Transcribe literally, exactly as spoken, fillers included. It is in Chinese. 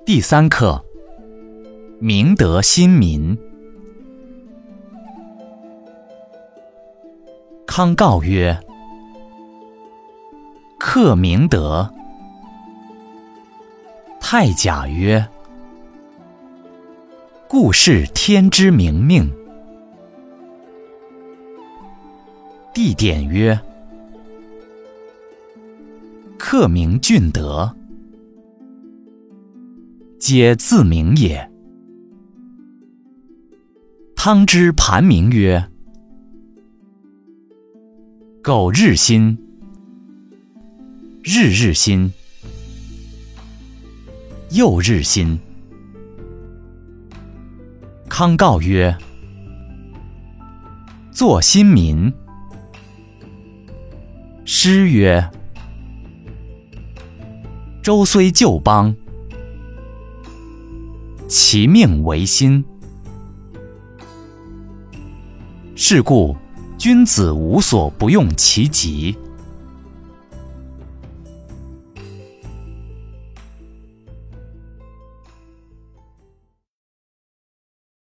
第三课，明德亲民。康诰曰：克明德。太甲曰：故是天之明命。地点曰：克明俊德，皆自明也。汤之盘铭曰：苟日新，日日新，又日新。康诰曰：作新民。诗曰：周虽旧邦，其命维新。是故君子无所不用其极。